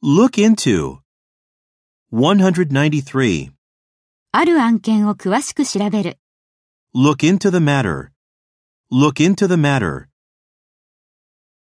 Look into. 193. ある案件を詳しく調べる。 Look into the matter. Look into the matter.